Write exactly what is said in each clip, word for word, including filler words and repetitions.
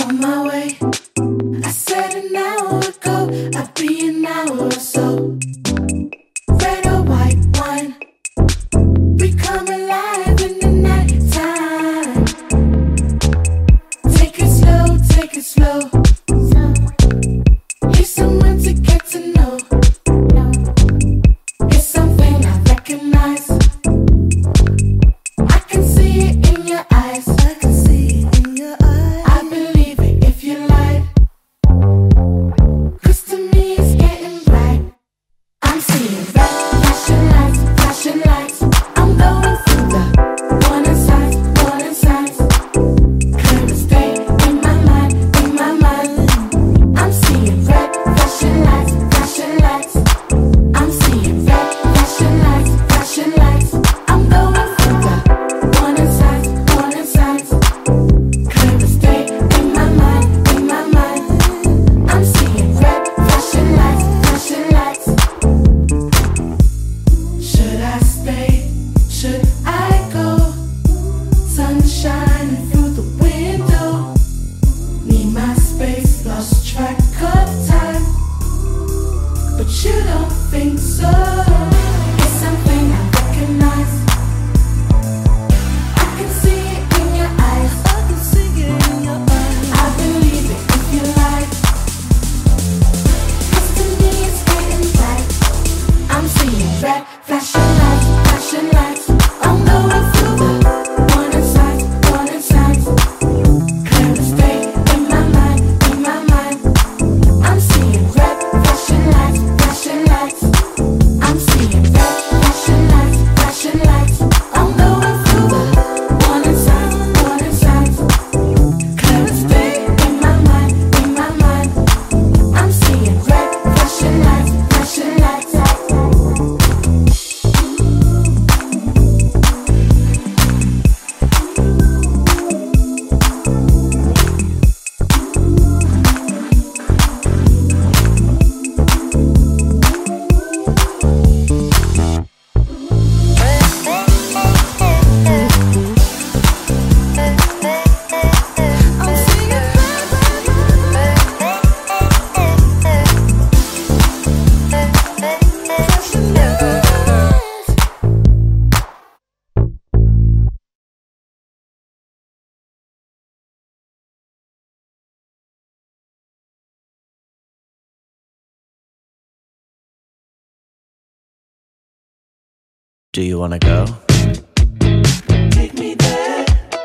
on my way. I said an hour ago I'd be an hour or so. Red or white wine, we come alive in the night time. Take it slow, take it slow. He's someone to get to know. It's something I recognize. I can see it in your eyes. I can see it in your eyes. I believe it if you lied. 'Cause to me it's getting bright. I'm seeing red flashing lights, flashing lights. I'm going through the warning signs, warning signs. Clear as day in my mind, in my mind. I'm seeing red flashing lights, flashing lights. I'm seeing red flashing lights, flashing lights. I'm going through the warning signs, warning signs. Clear as day in my mind, in my mind. I'm seeing red flashing lights, flashing lights. Should I stay? Should I go? Sun shining through the window. Need my space, lost track of time. But you don't think so. It's something I recognize. I can see it in your eyes. I can see it in your eyes. I believe it if you like. 'Cause to me it's getting bright. I'm seeing red flashing lights, flashing lights. I'm going through the warning signs, warning signs. Clear as day in my mind, in my mind. I'm seeing red flashing lights, flashing lights. I'm seeing red flashing lights, flashing lights. I'm going through the warning signs, warning signs. Clear as day in my mind, in my mind. I'm seeing red flashing lights, flashing lights. Do you wanna go? Take me there.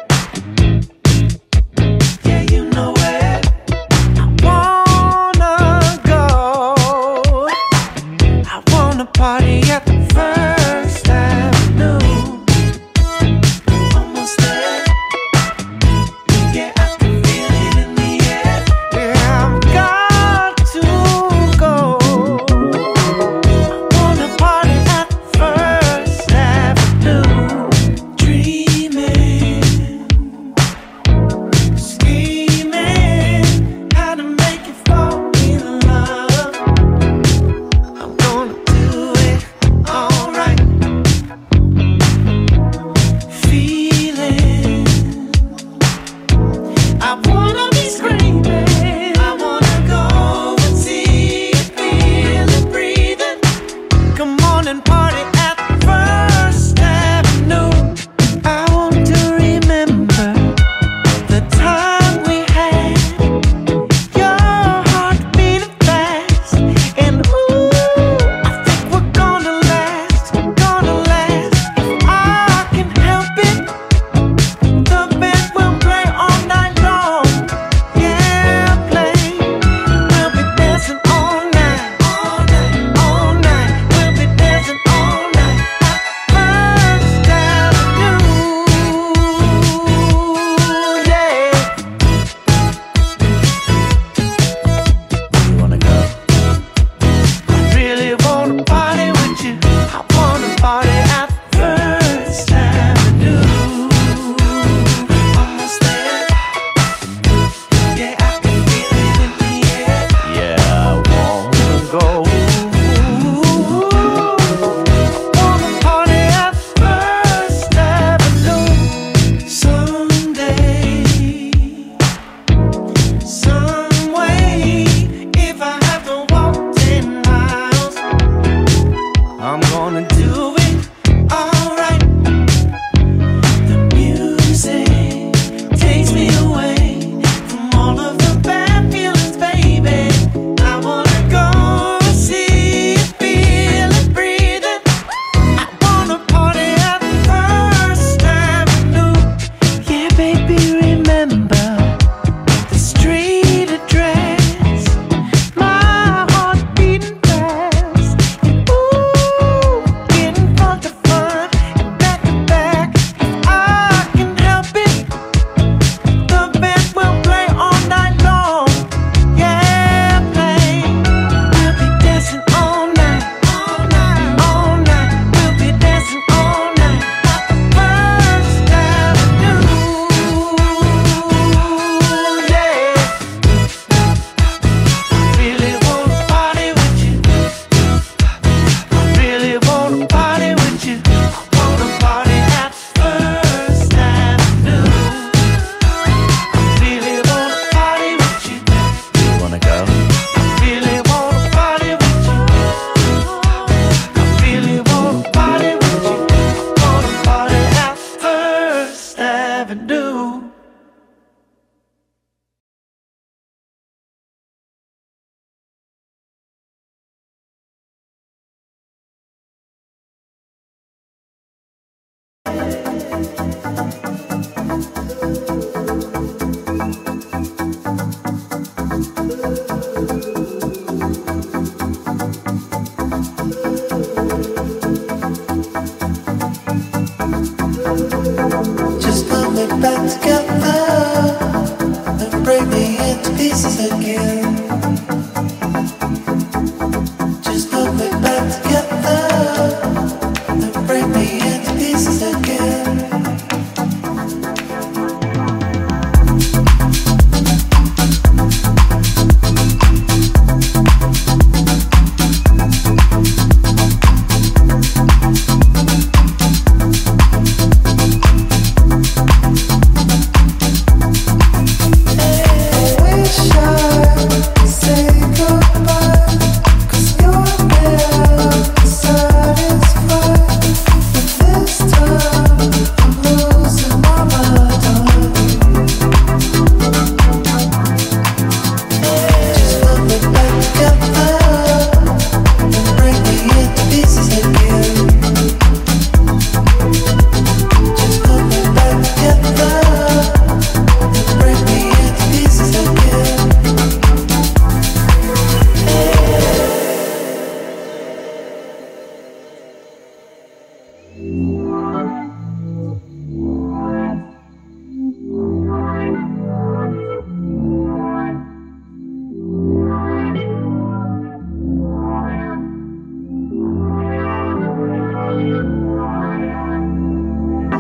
Yeah, you know it. I wanna go. I wanna party at the First Avenue. Almost there. Yeah, I can feel it in the air. Yeah, I've got to go. I wanna party at the First Avenue.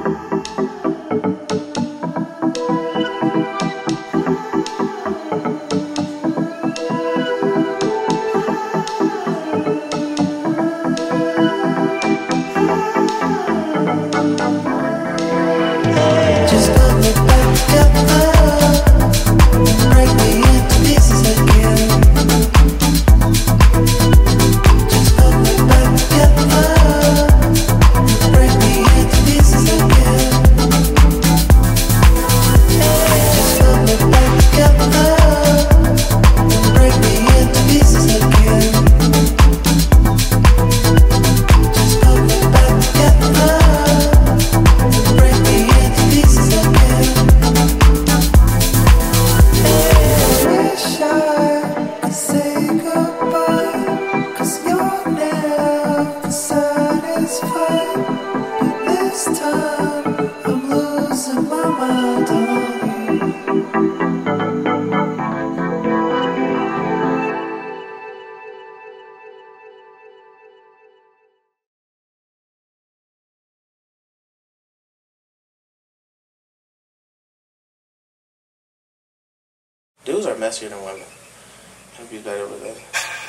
Dudes are messier than women. I'd be better with it.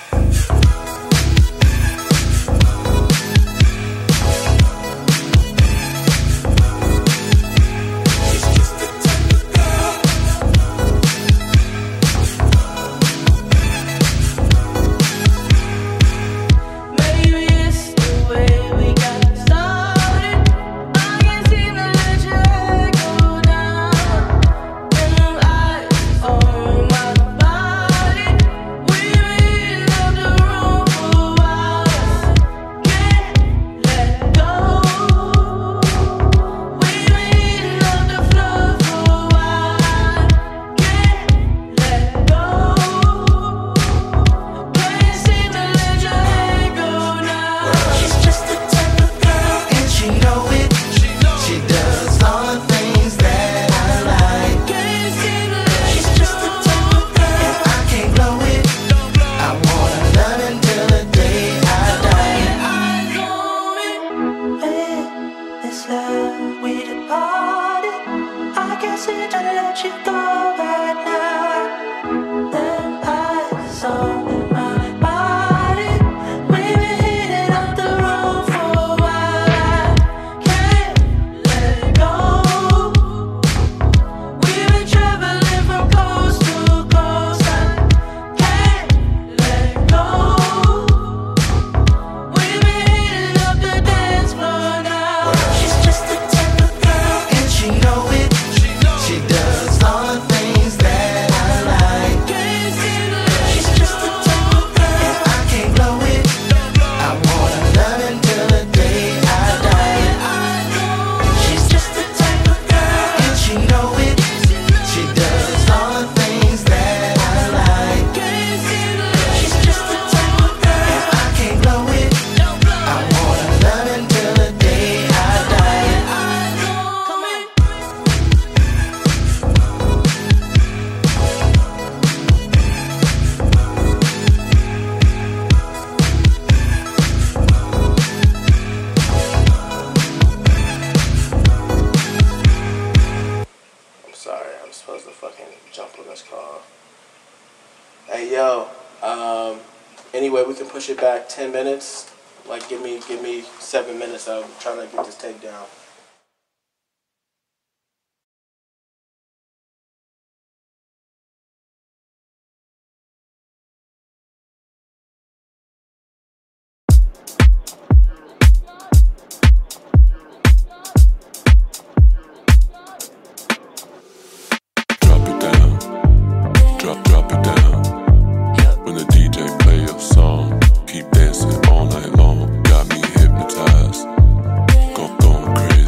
Anyway, we can push it back ten minutes. Like, give me, give me seven minutes. I'm trying to get this take down. Drop it down. Drop, drop it down. When the D J play your song, keep dancing all night long. Got me hypnotized. Go, going crazy.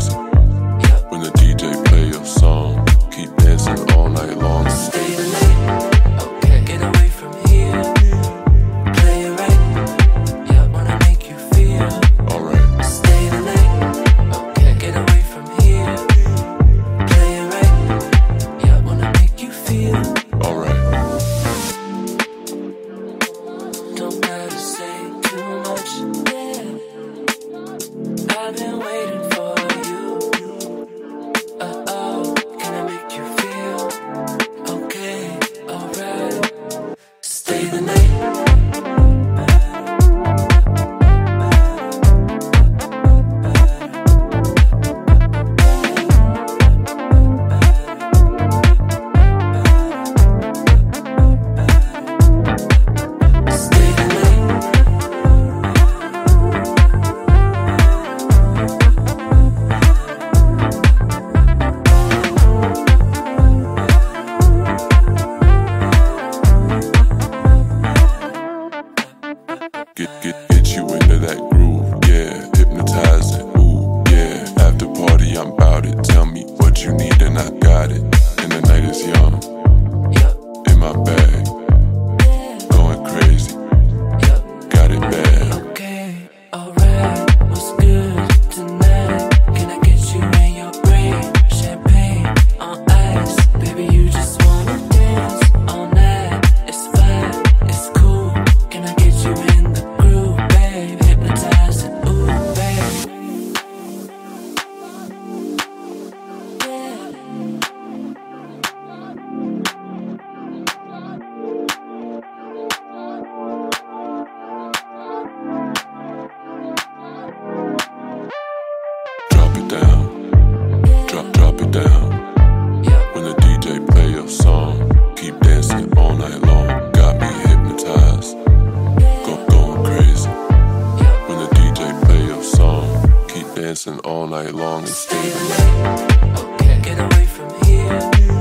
night long and stay the Stay night. the night. Okay. Get away from here.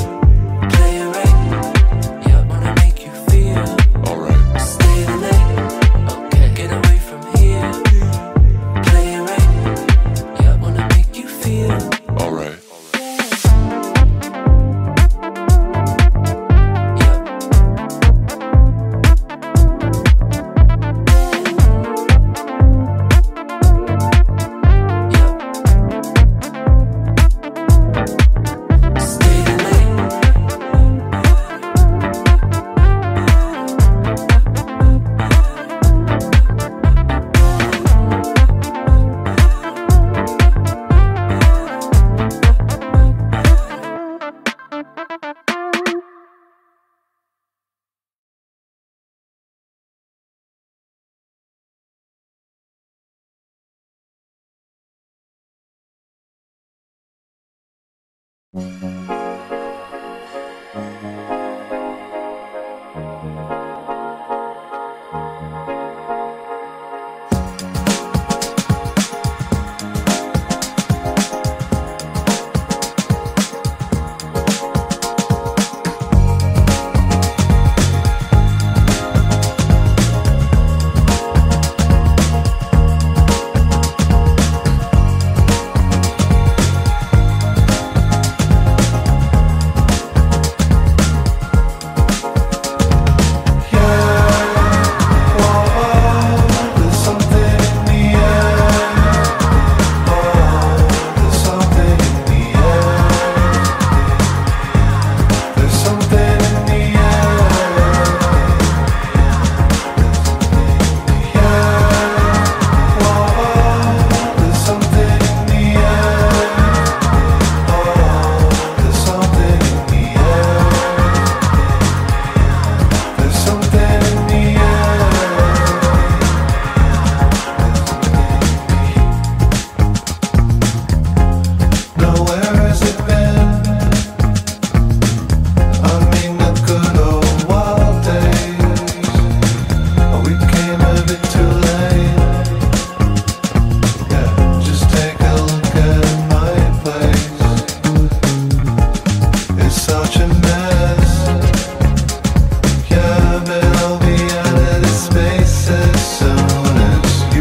Play it right. Yeah, wanna make you feel. Alright. Stay the night. Okay. Get away from here. Play it right. Yeah, wanna make you feel. Alright.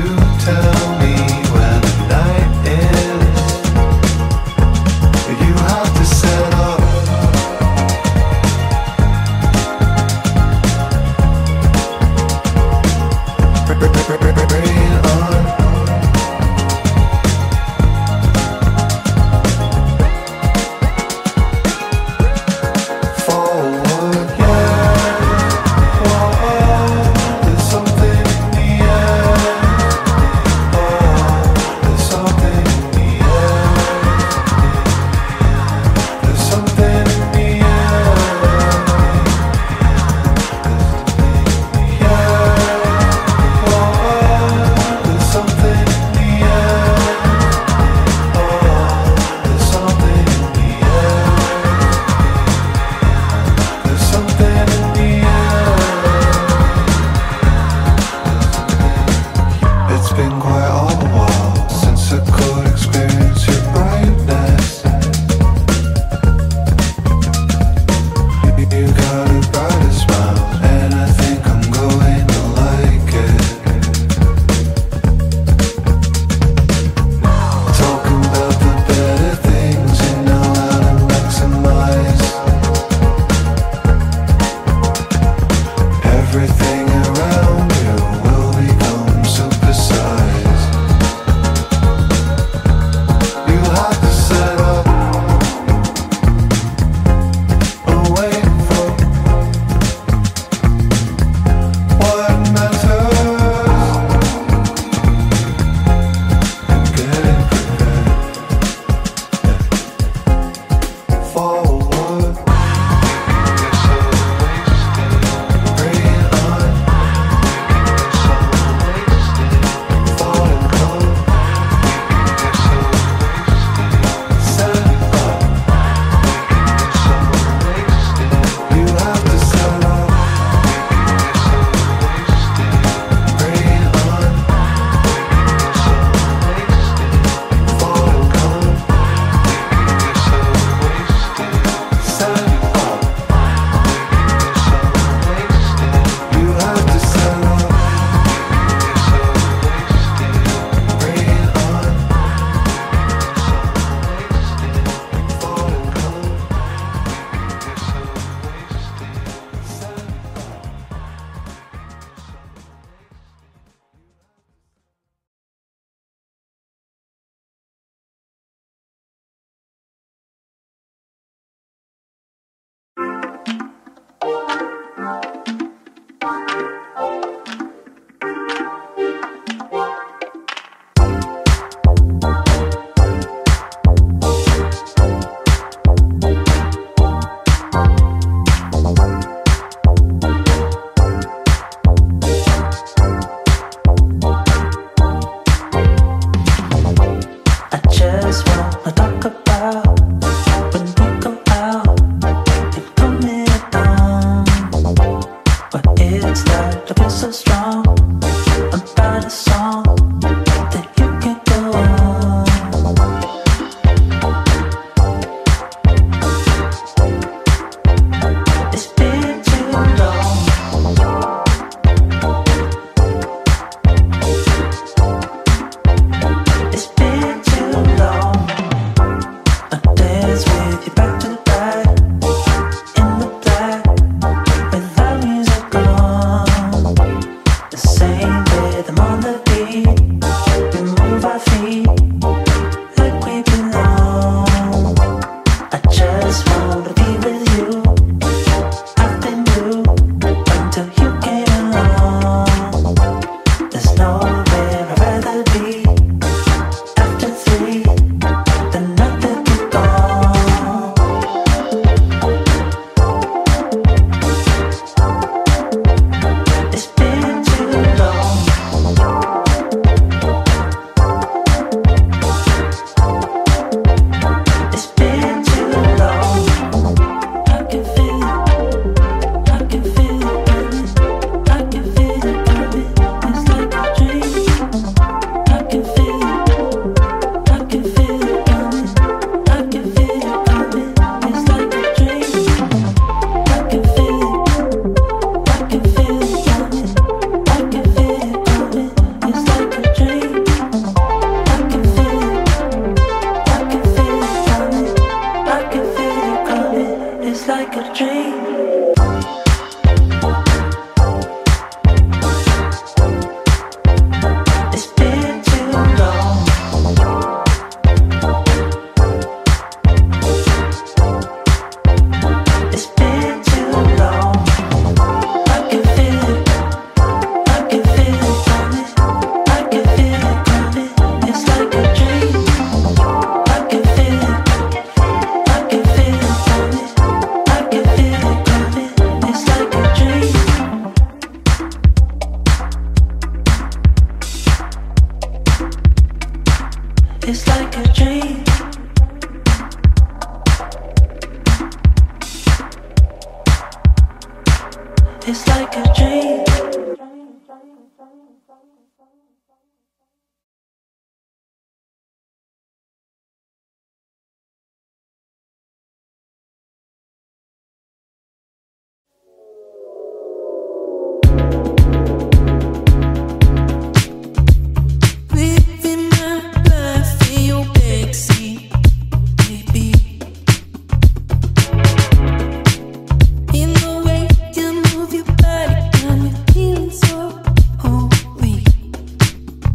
You like a dream. It's been too long. It's been too long. I can feel it. I can feel it coming. I can feel it coming. It's like a dream. I can feel it. I can feel it coming. I can feel it coming. It's like a dream. It's like a dream. It's like a dream. Living my life in your backseat, baby. In the way you move your body, got me feeling so holy.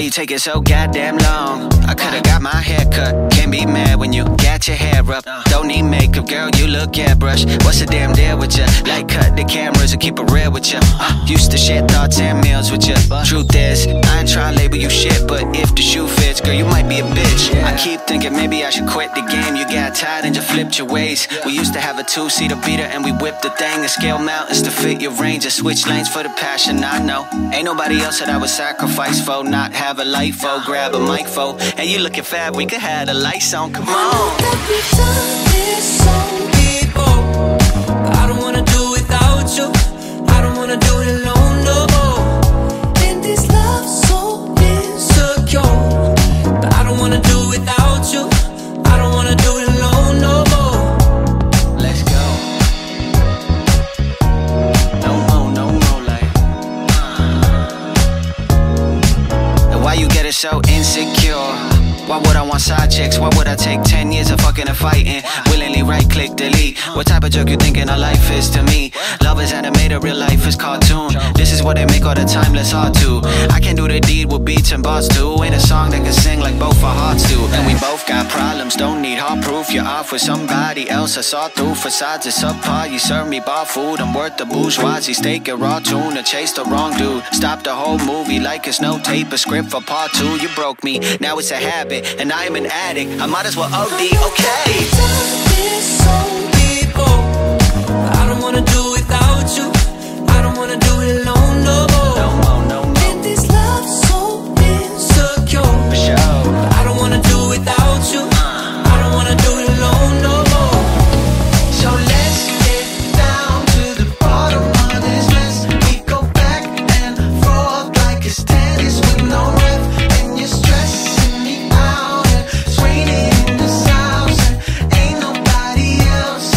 you take it so goddamn long? I could've got my hair cut. Can't be mad when you got your hair up. Don't need makeup, girl, you look airbrush. What's the damn deal with ya? Like cut the cameras and keep it real with ya. uh, Used to share thoughts and meals with ya. Truth is, I ain't tryna label you shit, but if the shoe fits, girl, you might be a bitch. I keep thinking maybe I should quit the game. You got tired and just flipped your ways. We used to have a two-seater beater and we whipped the thing and scale mountains to fit your range and switch lanes for the passion. I know ain't nobody else that I would sacrifice for, not have a life for, grab a mic for. And you looking fab, we could have the lights on, come on. We've done this so before. I don't wanna do without you. I don't wanna do it alone no more. And this love so insecure, but I don't wanna do without you. I don't wanna do it alone no more. Let's go. No more, no more, like uh. And why you get it so insecure? Why would I want side chicks? Why would I take ten years of fucking and fighting? Willingly right click delete. What type of jerk you thinking our life is to me? Love is animated, real life is cartoon. This is what they make all the timeless hard to. I can do the deed with beats and bars too. Ain't a song that can sing like both our hearts do. And we both got problems, don't need hard proof. You're off with somebody else I saw through. Facades is subpar, you serve me bar food. I'm worth the bourgeoisie steak and raw tuna. Chase the wrong dude, stop the whole movie like it's no tape. A script for part two, you broke me, now it's a habit. And I am an addict, I might as well O D, okay. We've done this so before. I don't wanna do without you. I don't wanna do it alone no more. No more, no more. And this love so insecure, For sure. I don't wanna do without you. I don't wanna do it alone no more. So let's get down to the bottom of this list. We go back and forth like it's tennis with no ref. And you're stressing me out and it's raining in this house and ain't nobody else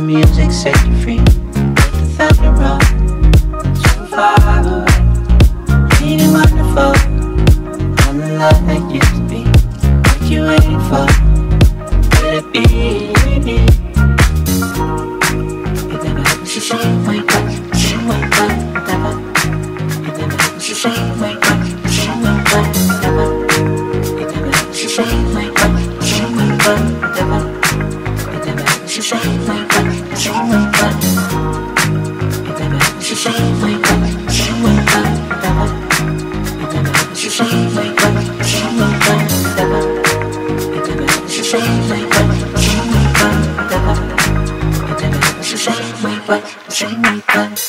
music set you free. Let the thunder roll. So far away. Ain't it wonderful? On the love that used to be. What you waiting for? Will it be? You never had to say wake up, say wake up, never. You never had to say wake up, say wake up, never. You never had to say wake up, say wake up, never. You never had to say wake up, say wake up. You never had to say wake up, say wake up, never. You never had to say wake up, say wake up, never. You never had to say wake up, say wake up, never. You never had to say wake up, say wake up.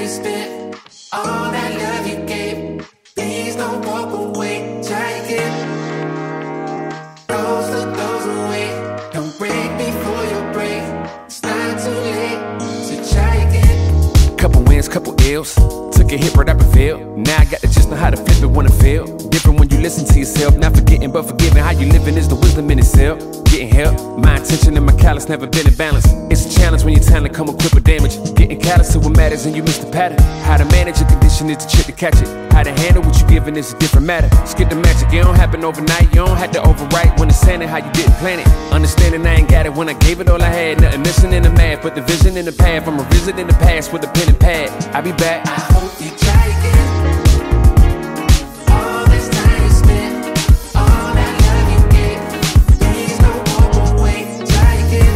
you spent, all that love you gave. Please don't walk away. Try again. Goes to goes away. Don't break before you break. It's not too late, so try again. Couple wins, couple ills. Took a hit right up and failed. Now I got to just know how to flip it when I fail. Different when you listen to yourself. Not forgetting but forgiving. How you living is the wisdom in itself. Getting help. My intention and my callous never been in balance. It's a challenge when your talent come equipped with damage. Getting callous to what matters and you miss the pattern. How to manage your condition is the trick to catch it. How to handle what you giving is a different matter. Skip the magic, it don't happen overnight. You don't have to overwrite when it's saying how you didn't plan it. Understanding I ain't got it when I gave it all I had. Nothing missing in the math, but the vision in the path. I'm revisiting the past with a pen and pad. I'll be back. I hope you try again. All this time you spent, all that love you gave. Please don't walk away. Try again.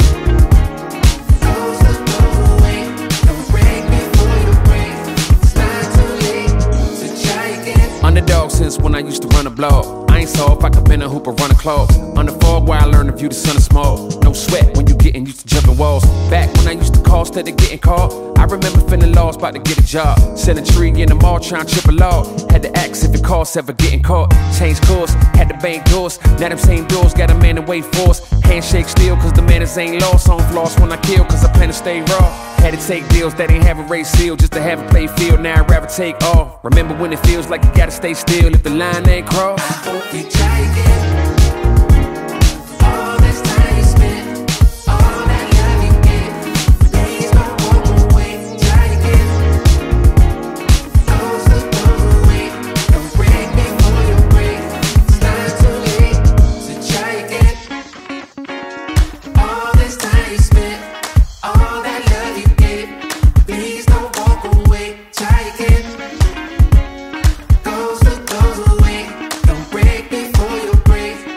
Goes to goes away. Don't break before you break. It's not too late, so try again. Underdog since when I used to run a blog. I ain't saw if I could bend a hoop or run a clog. On the fog where I learned to view the sun is small. No sweat when you getting used to jumping walls. Back when I used to call instead of getting called. I remember feeling lost, about to get a job. Set a tree in the mall, trying to trip a log. Had to ask if it costs ever getting caught. Change course, had to bank doors. Now them same doors got a man to wait for us. Handshake still, cause the manners ain't lost. On floss when I kill, cause I plan to stay raw. Had to take deals that ain't have a race seal just to have a play field. Now I'd rather take off. Remember when it feels like you gotta stay still if the line ain't crossed. I hope you try again. All this time you spent, all that love you gave. Please don't walk away. Try again. Goes to goes away. Don't break before you break. It's not too late, so try again. All this time you spent, all that love you gave. Please don't walk away. Try again. Goes to goes away. Don't break before you break.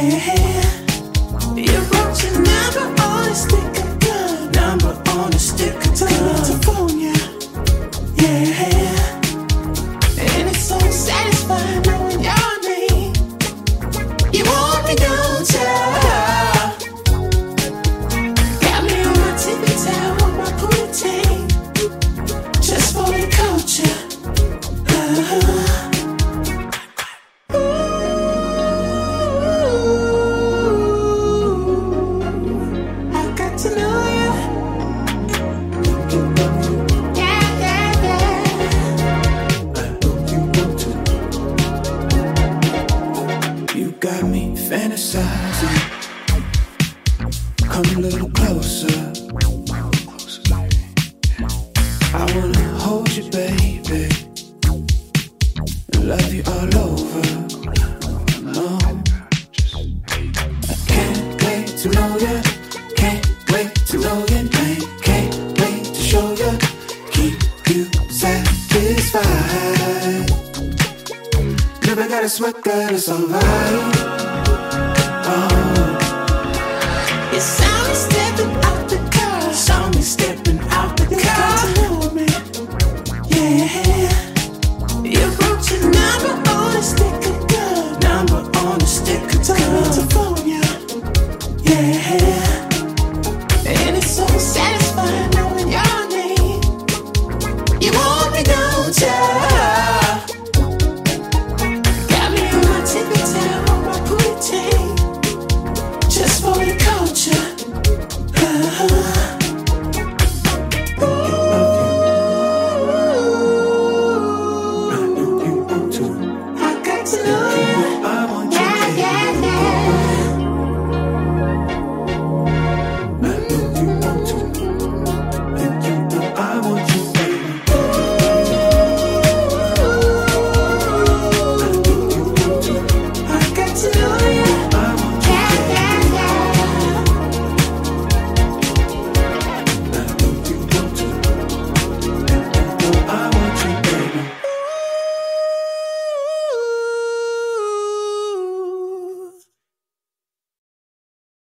You wrote your number on a stick of gum. Number on a stick of gum. California. Yeah. And it's so satisfying knowing your name. You want me, don't you? Got me on my tippy toe, on my ponytail. Just for the culture. Uh-huh. Fantasizing, come a little closer. I wanna hold you, baby, and love you all over. No, I can't wait to know you, can't wait to know your name, can't wait to show you, keep you satisfied. Never gotta sweat, girl, it's alright.